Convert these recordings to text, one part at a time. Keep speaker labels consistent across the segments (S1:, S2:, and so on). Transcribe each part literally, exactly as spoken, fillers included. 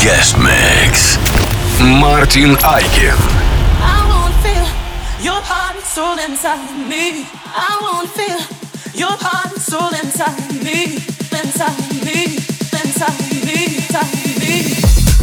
S1: Guest Mix. Мартин Айкин.
S2: I wanna feel your heart and soul inside of me. I wanna feel your heart and soul inside of me. Inside of me. Inside of me. Inside of me.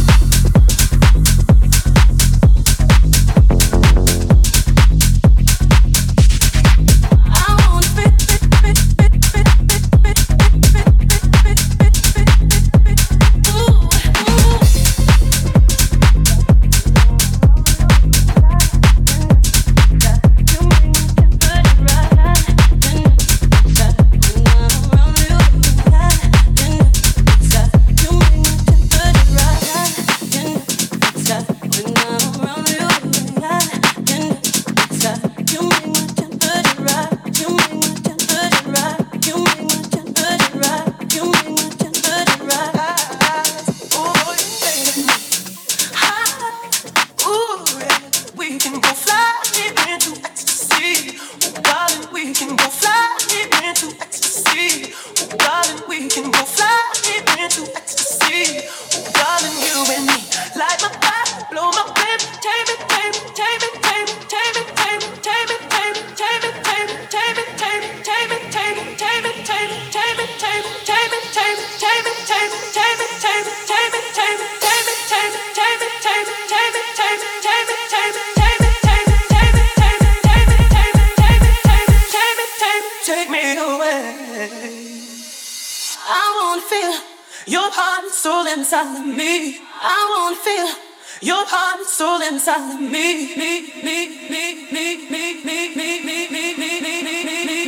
S2: Inside of me, I wanna feel your heart and soul inside of me, me, me, me, me, me, me, me, me, me, me, me, me,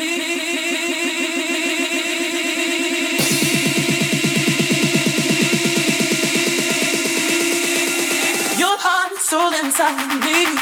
S2: me. Your heart and soul inside of me.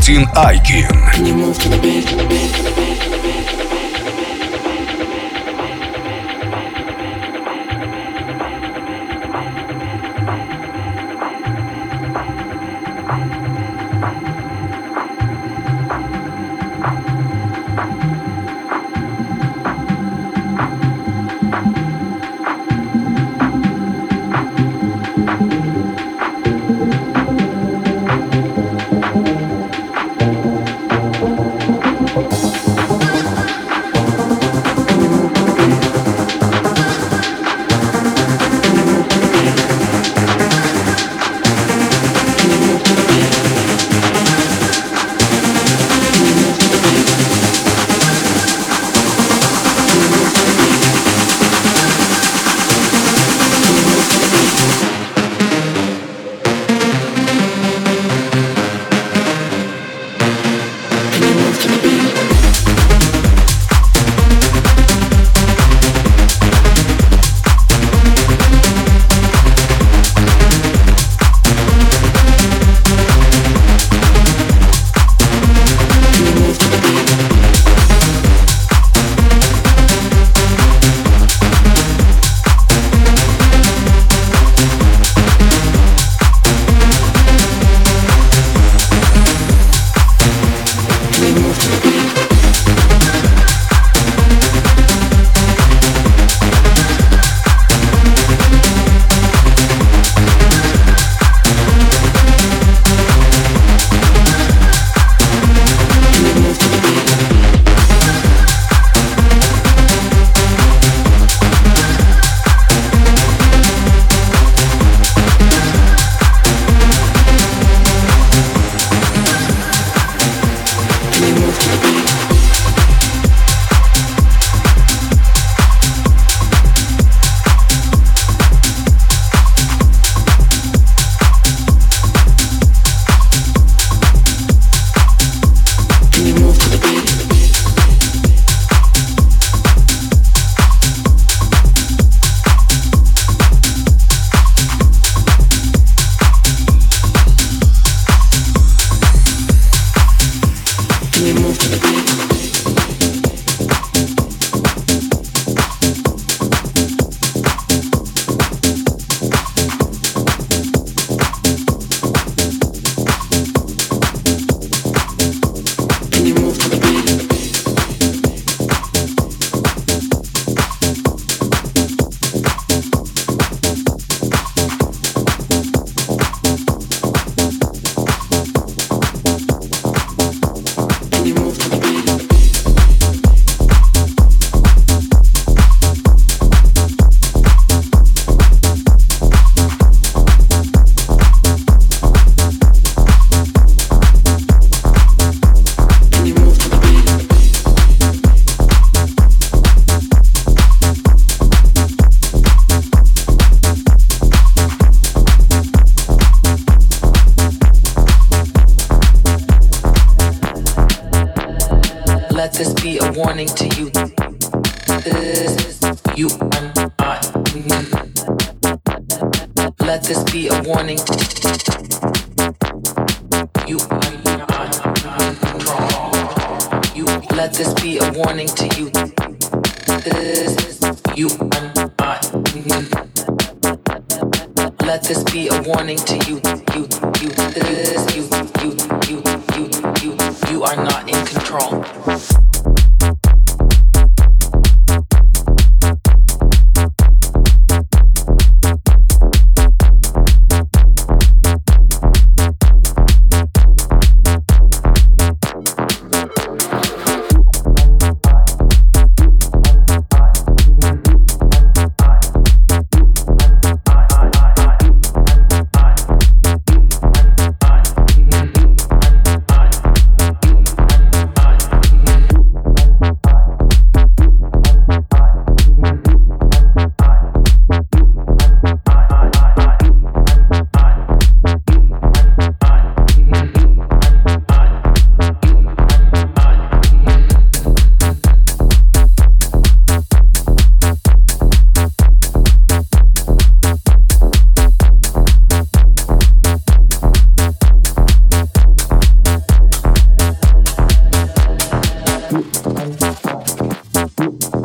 S1: Мартин Айкин.
S3: Can you move to the beat?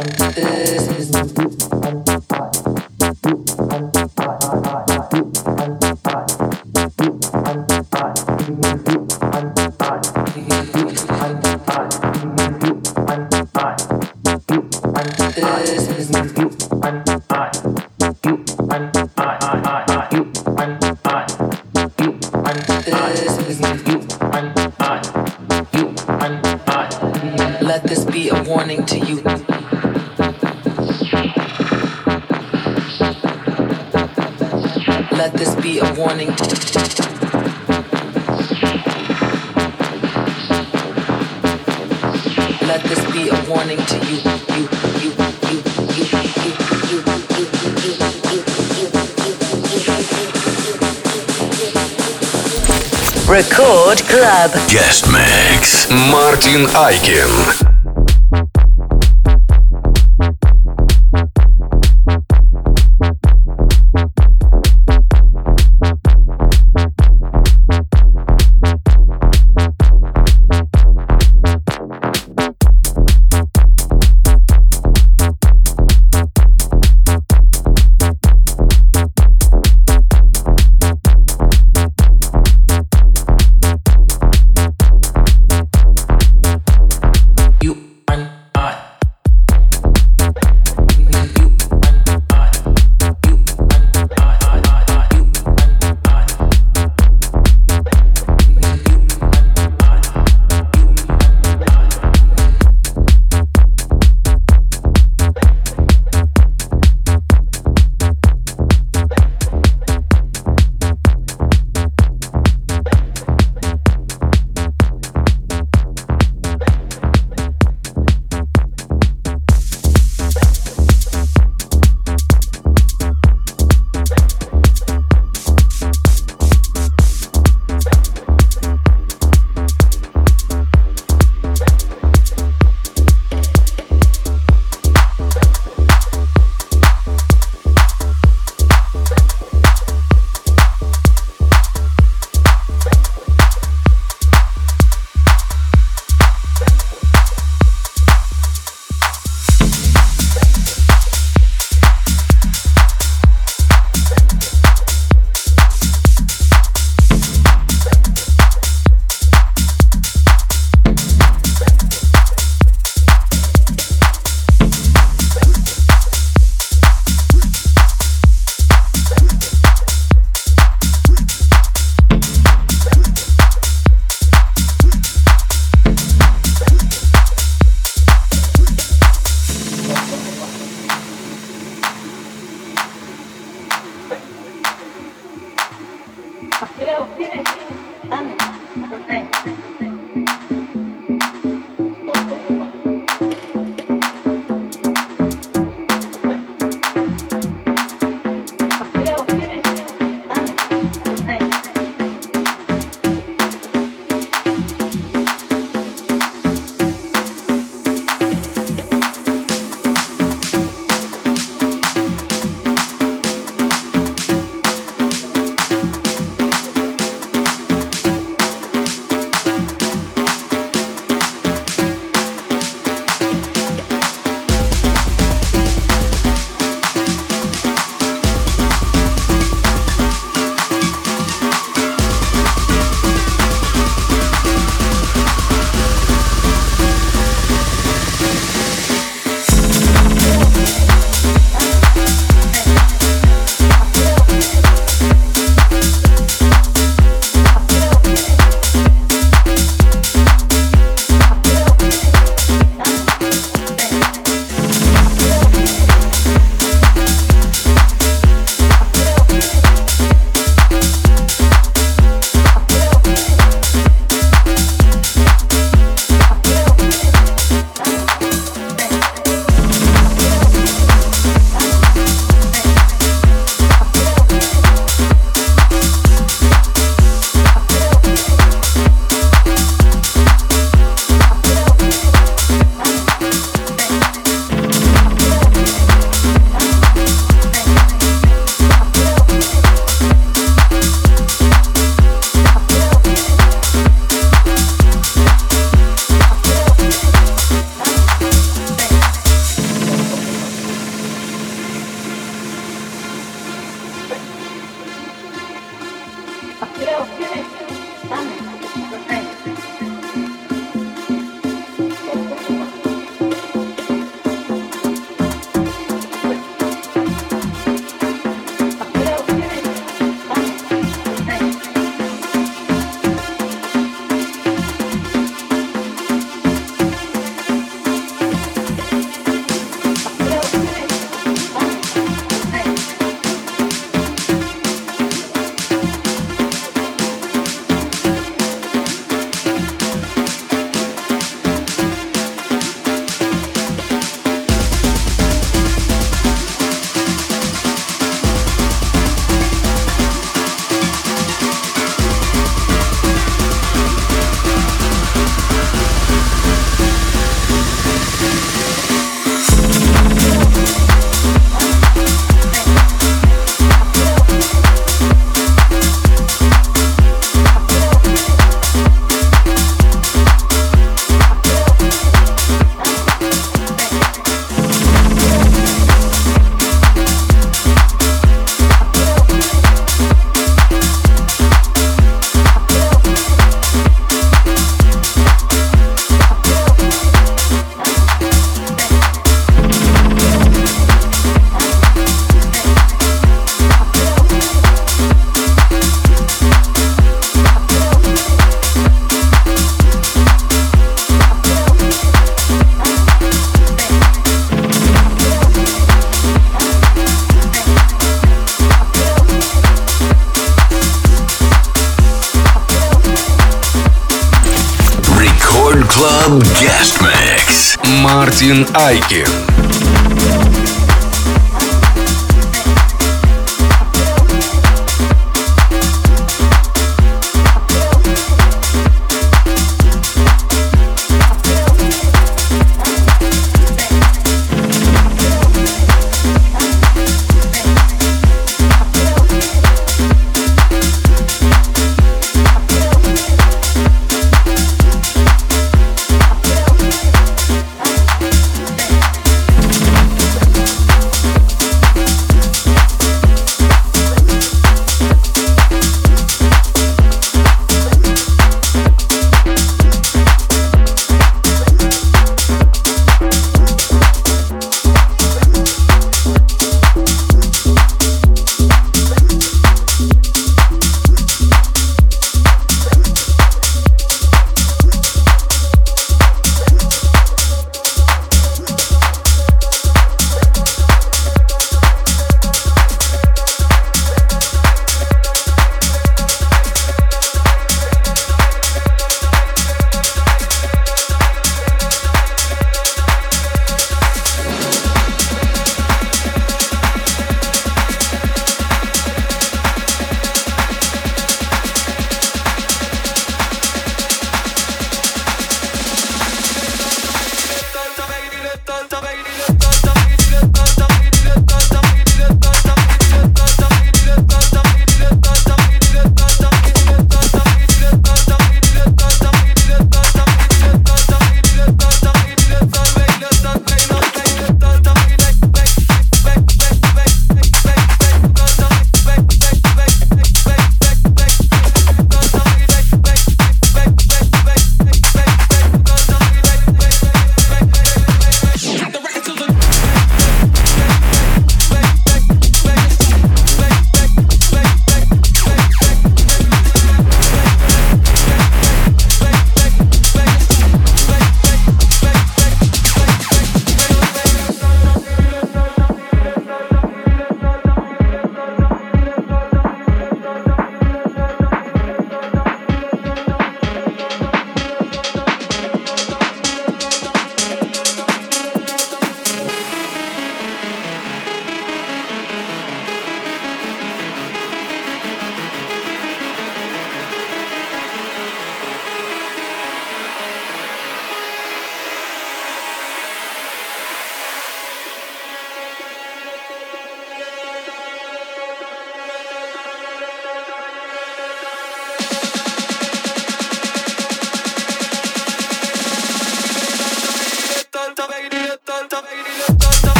S4: Let this be a warning to you. Let this be a warning to Let this be a warning to you. You, you, you, you, you, you, you, you. Record Club.
S1: Guest Mix. Мартин Айкин.
S4: You
S1: Club Guest Mix. Мартин Айкин.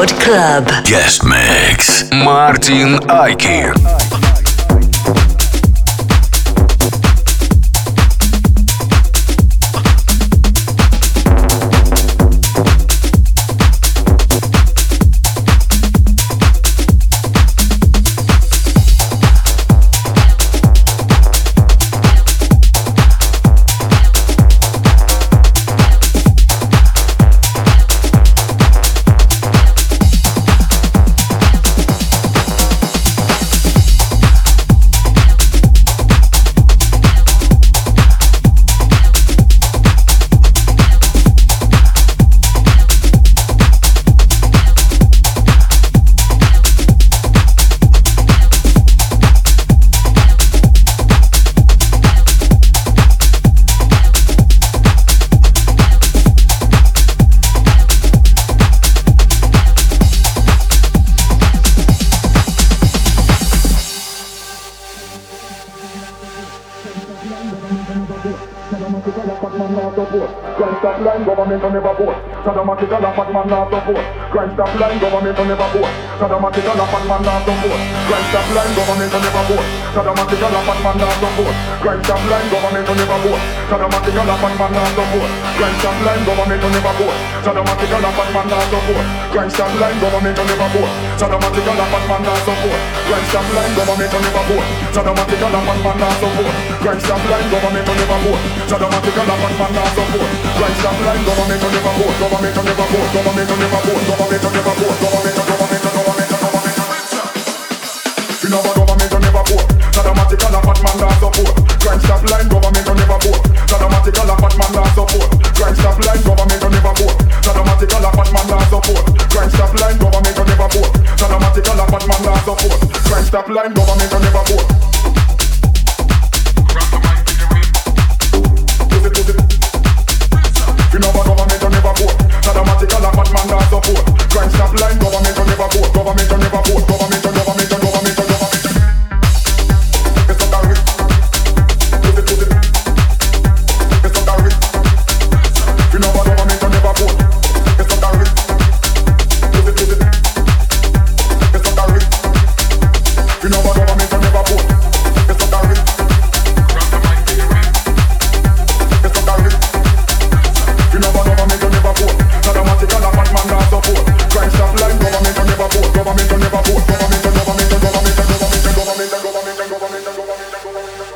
S5: Рекорд Клаб.
S1: Guest Mix. Мартин Айки.
S6: Government on never vote. Saddamatic and a fat man not support. Crime stop line, government on never vote. Saddamatic and a fat man not support. Crime stop line, government on never vote. Saddamatic and a fat man not support. Crime stop line, government on never vote. Saddamatic and a fat man not support. Crime stop line, government on never vote. Saddamatic and a fat man not support. Crime stop line, government on never vote. Saddamatic and a fat man not support. Crime stop line, government on never vote. Saddamatic and a fat man not support. Crime stop line, government on never vote. Saddamatic and a fat man not support. Crime stop line, government on never vote. Government on never vote. Government on never vote. Government on never vote. Government on government on government on government on. You know what government on never vote. Saddamatic and a fat man not support. Crime stop line, government on never vote. Saddamatic and a fat man not support. Crime stop line, government on never vote. Saddamatic and a fat man not support. Crime stop line, government on never vote. Saddamatic and a fat man not support. Crime stop line, government on never vote. You know what government on never vote. Saddamatic and a fat man not support. Crime stop line, government on never vote. Government on never vote. Government on government on government on government. It's not that rich. Put it, put it. It's not that rich. You know what government on never vote. It's not that rich. Put it, put it. It's not that rich. You know what government on never vote. It's not that rich. It's not that rich. You know what government on never vote. Saddamatic and a fat man not support. Crime stop line, government on never vote. Government on never vote. Government on government on government on government on government on government on government on government on government on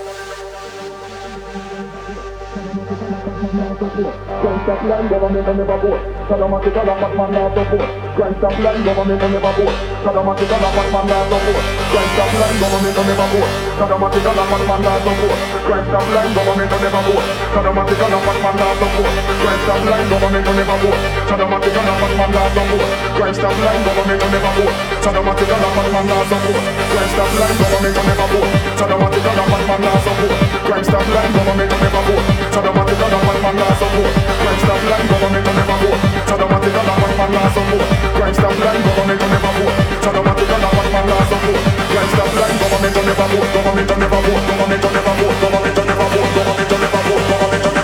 S6: Crime stop line, government on never vote. Saddamatic and a fat man not support. Crime stop line, government on never vote. Saddamatic and a fat man not support. Crime stop line, government on never vote. Saddamatic and a fat man not support. Crime stop line, government on never vote. Saddamatic and a fat man not support. Crime stop line, government on never vote. Saddamatic and a fat man not support. Crime stop line, government on never vote. Saddamatic and a fat man not support. Crime stop line, government on never vote. Saddamatic and a fat man not support. Crime stop line, government on never vote. Saddamatic and a fat man not support. Crime stop line, government on never vote. Saddamatic and a fat man not support. Crime stop line, government on never vote. Saddamatic and a fat man not support. Crime stop line, government on never vote. Government on never vote. Government on never vote. Government on never vote. Government on never vote. Government on never vote.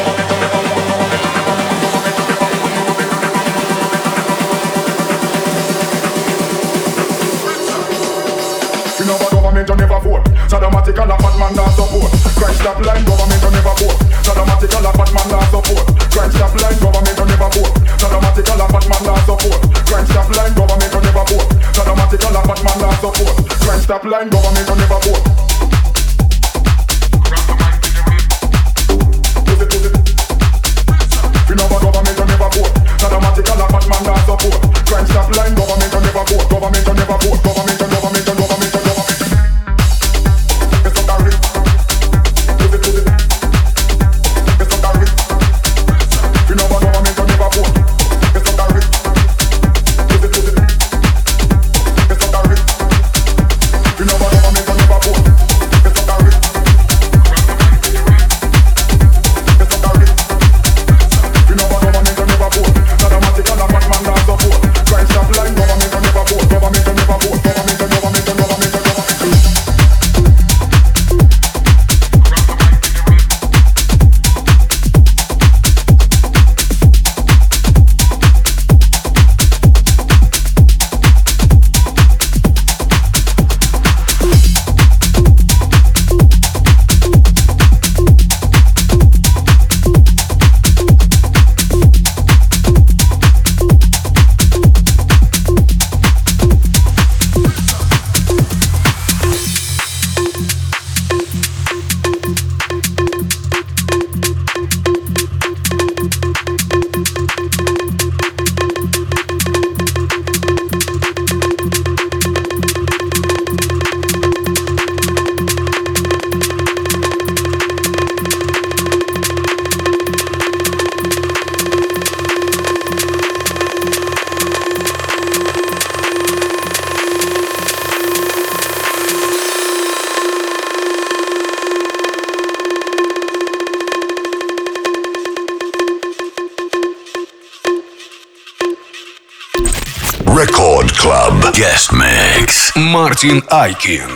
S6: You know what government on never vote. Saddamatic and a fat man not support. Crime stop line, government on never vote. Saddamatic and a fat man not support. Crime stop line, government on never vote. Saddamatic and a fat man not support. Crime stop line, government on never vote. Saddamatic and a fat man not support. Crime stop line, government on never vote. You know what government on never vote. Saddamatic and a fat man not support. Crime stop line, government on never vote. Government on never vote. Government on government on government on government. It's not that rich. Put it, put it. It's not that rich. You know what government on never vote. It's not that rich. Put it, put it. It's not that rich. You know what government on never vote.
S1: Record Club Guest Mix. Мартин Айкин.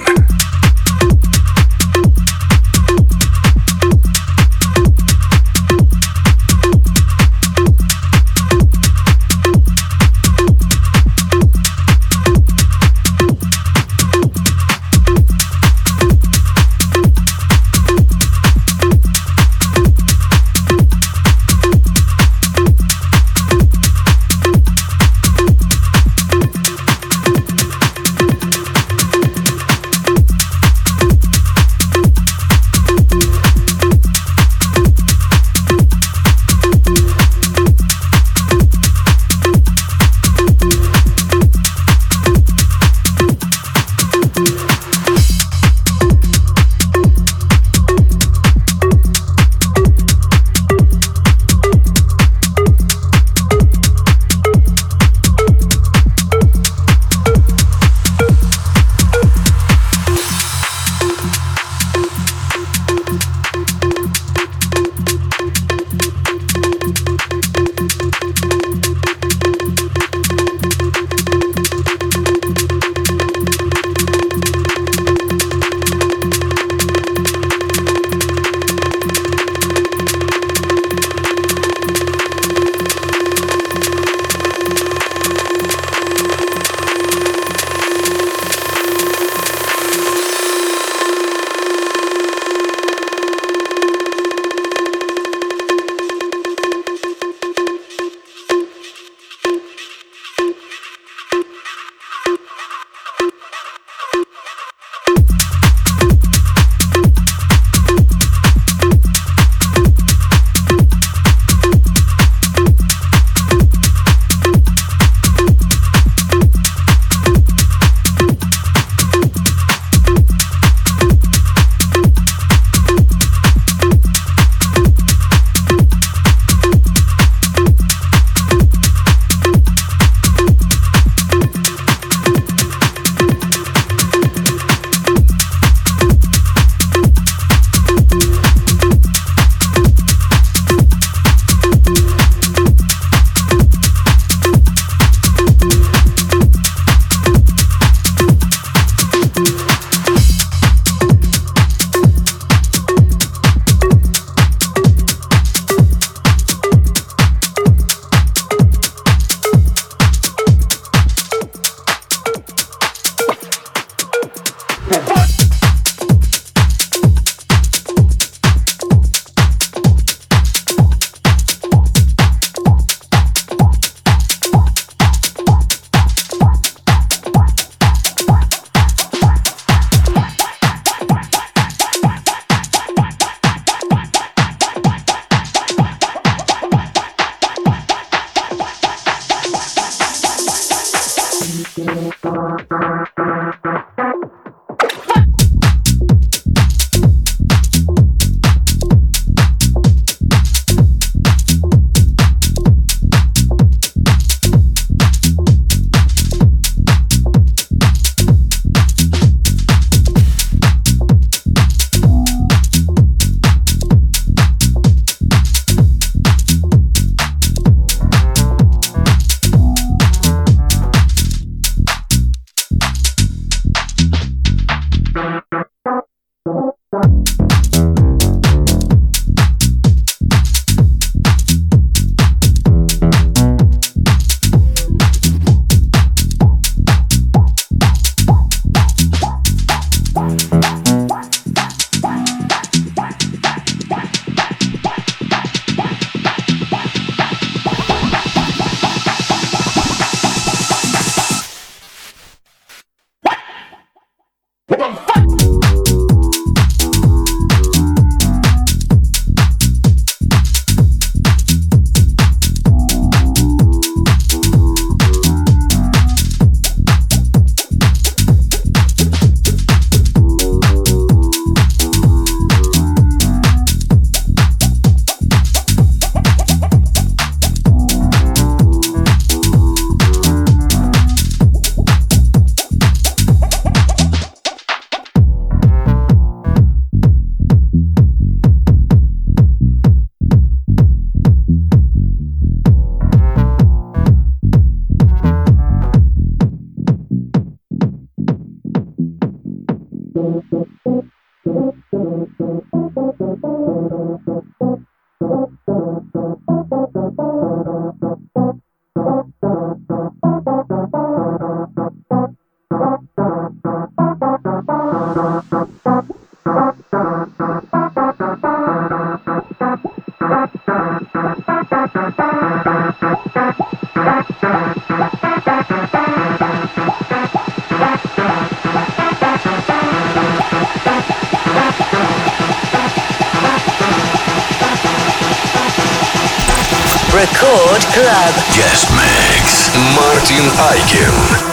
S4: Рекорд Клаб.
S1: Guest Mix. Мартин Айкин.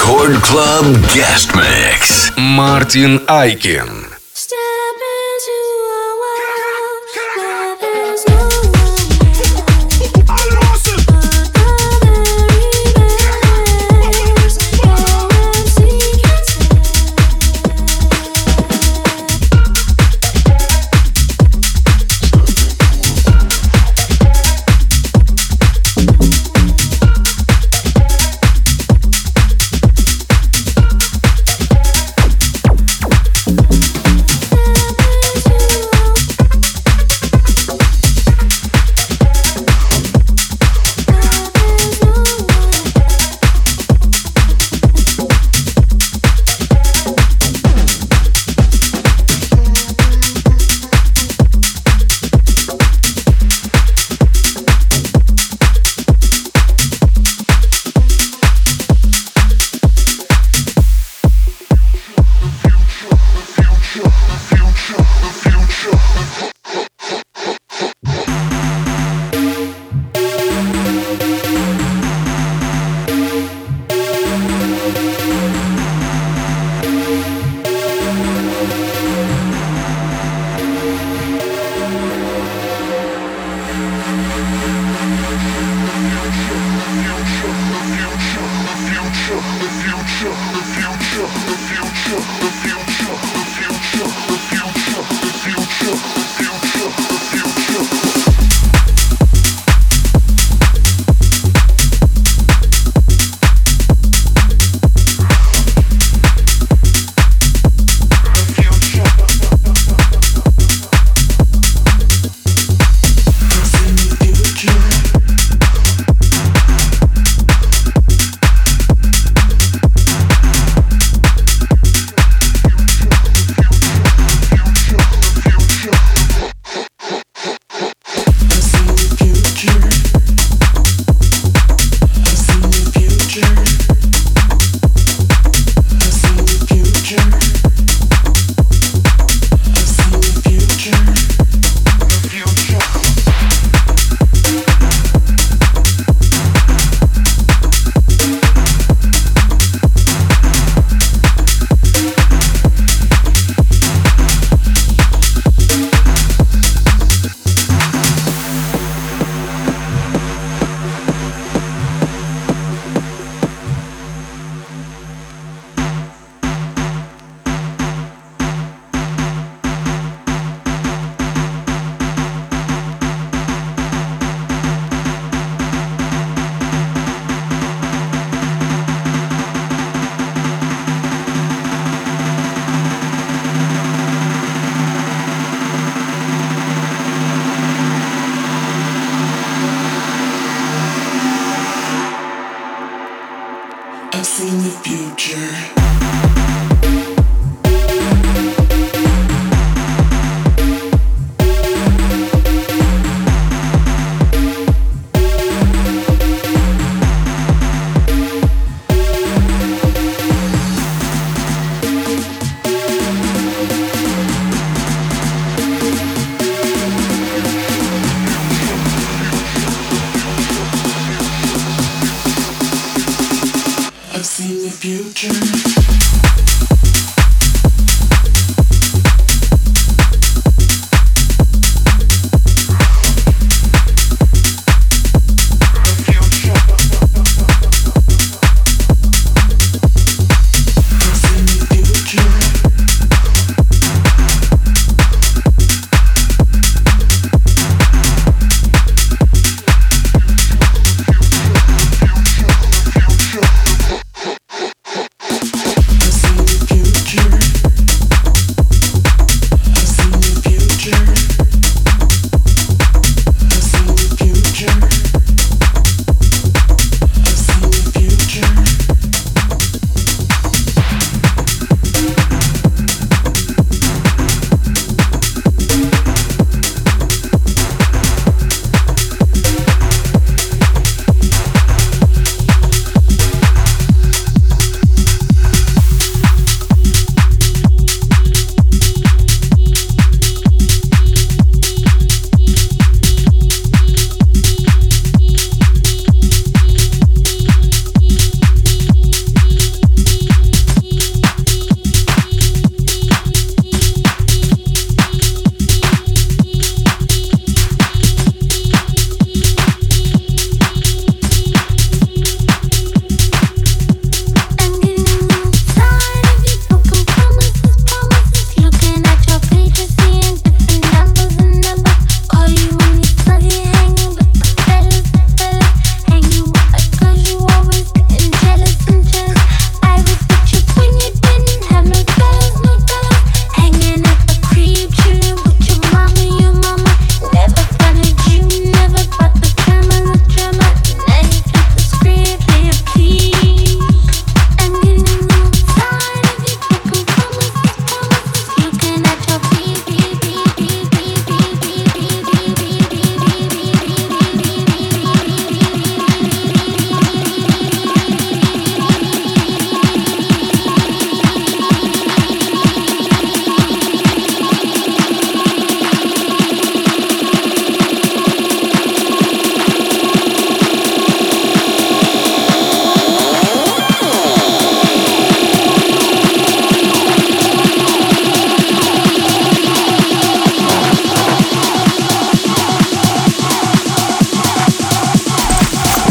S1: Record Club Guest Mix. Мартин Айкин.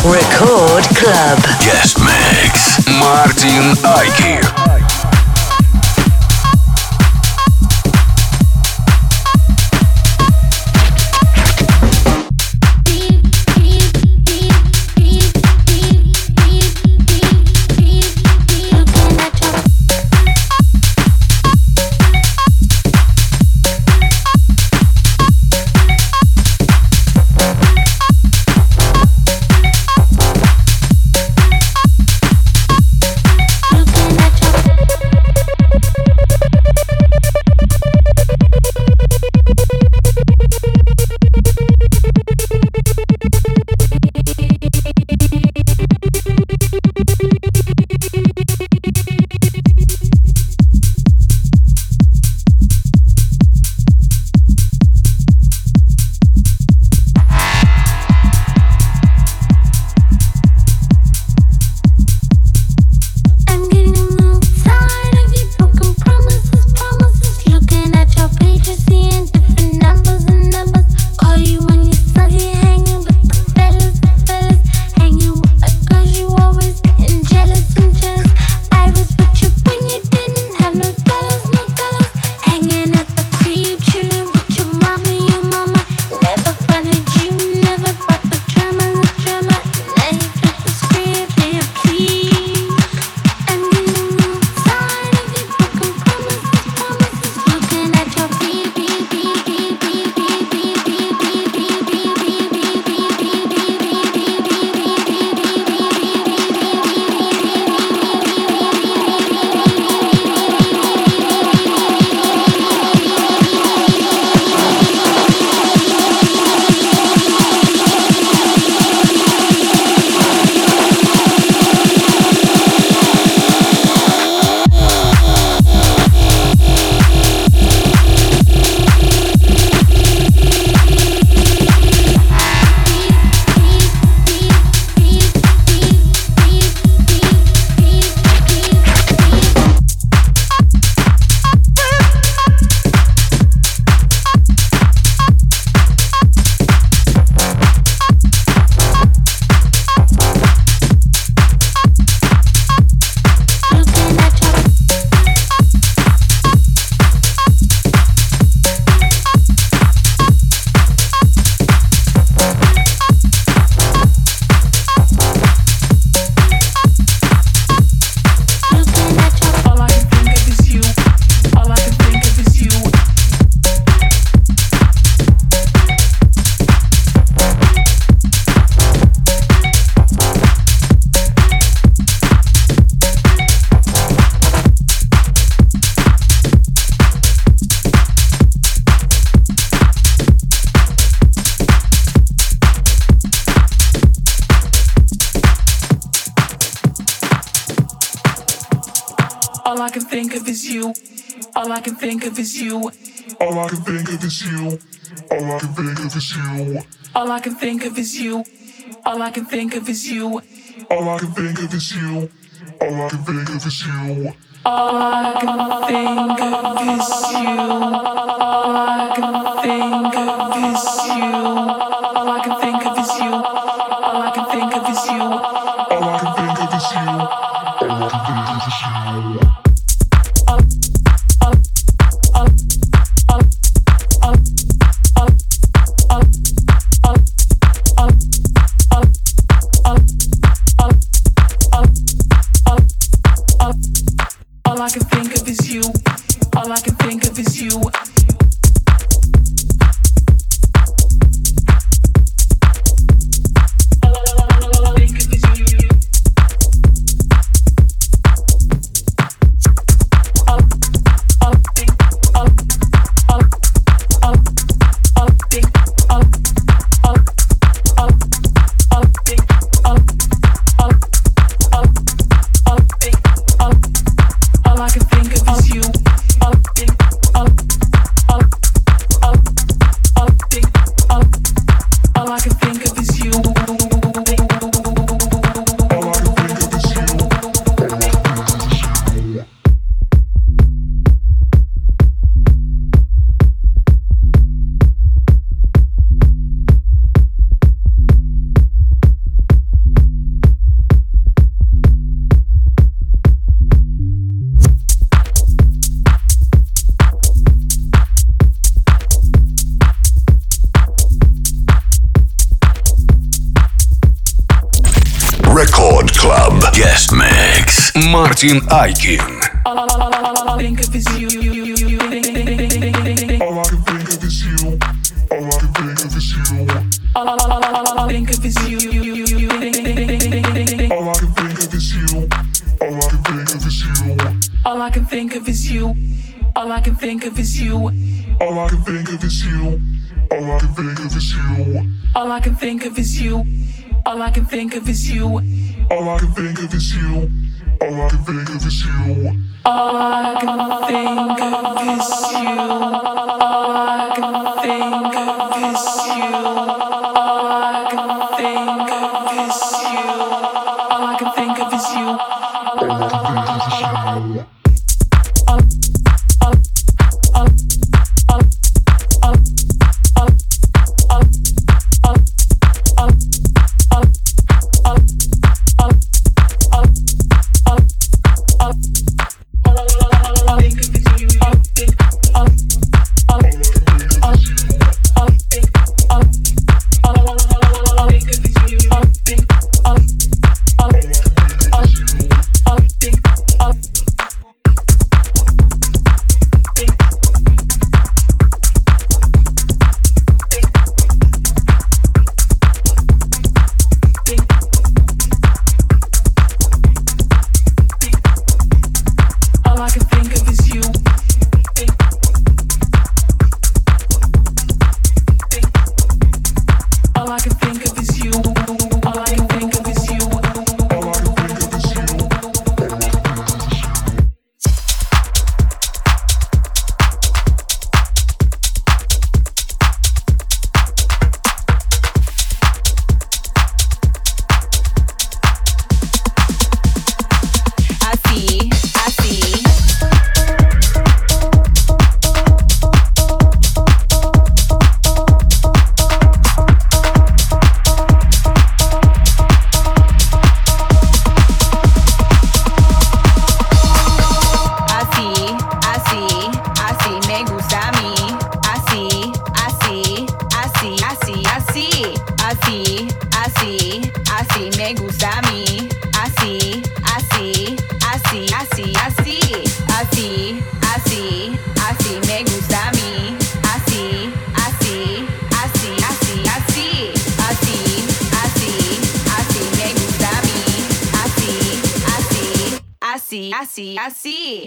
S5: Record Club.
S1: Guest Mix. Мартин Айки.
S2: All I can think of is you. All I can think of is you.
S6: All I can think of is you. All I can think of is you.
S2: All I can think of is you. All I can think of is you.
S6: All I can think of is you. All I can think of is you.
S2: All I can think of is you. All I can think of is you. All I can think of is you. All I can think of is you.
S6: All I can think of is you. All I can think of is you.
S2: All I can think of is you. All I can think of is you.
S1: Guest Mix. Мартин Айкин.
S2: All I think of is you.
S6: All I can think of is you. All I can think of is you.
S2: All I think of is you.
S6: All I can think of is you. All I can think of is you.
S2: All I can think of is you. All I can think of is you.
S6: All I can think of is you. All I can think of is you.
S2: All I can think of is you. All I can think of is you.
S6: All I can think of is you. All I can think of is you.
S2: All I can think of is you. All I can think of is you. All I can think of is you. All I can think of is you.
S6: All I can think of is you.
S5: Así, así.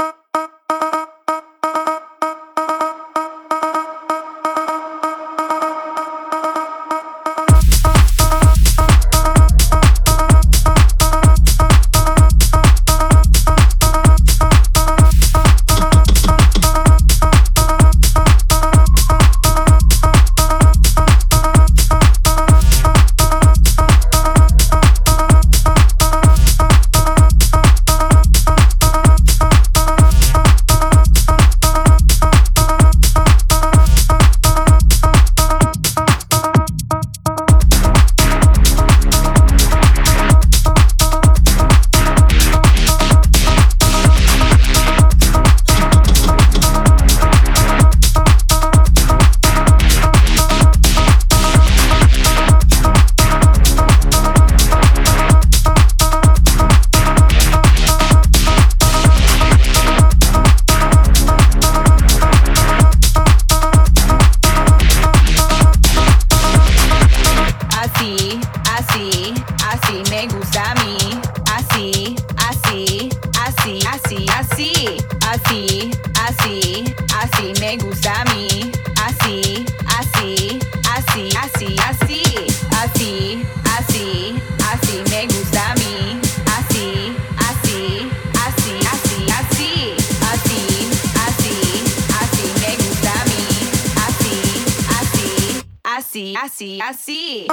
S5: Así, así.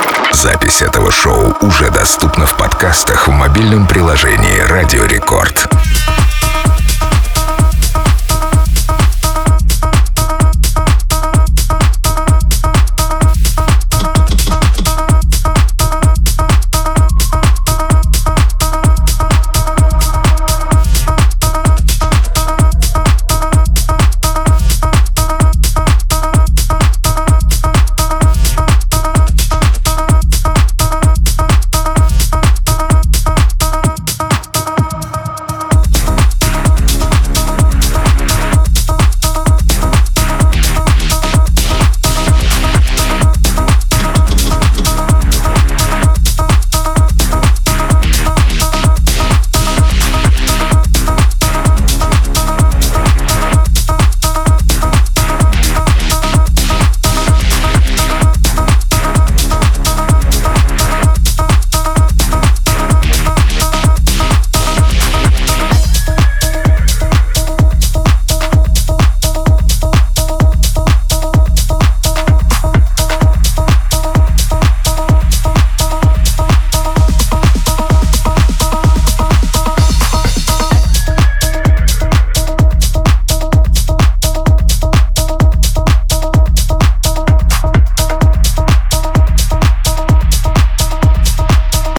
S1: Запись этого шоу уже доступна в подкастах в мобильном приложении «Радио Рекорд».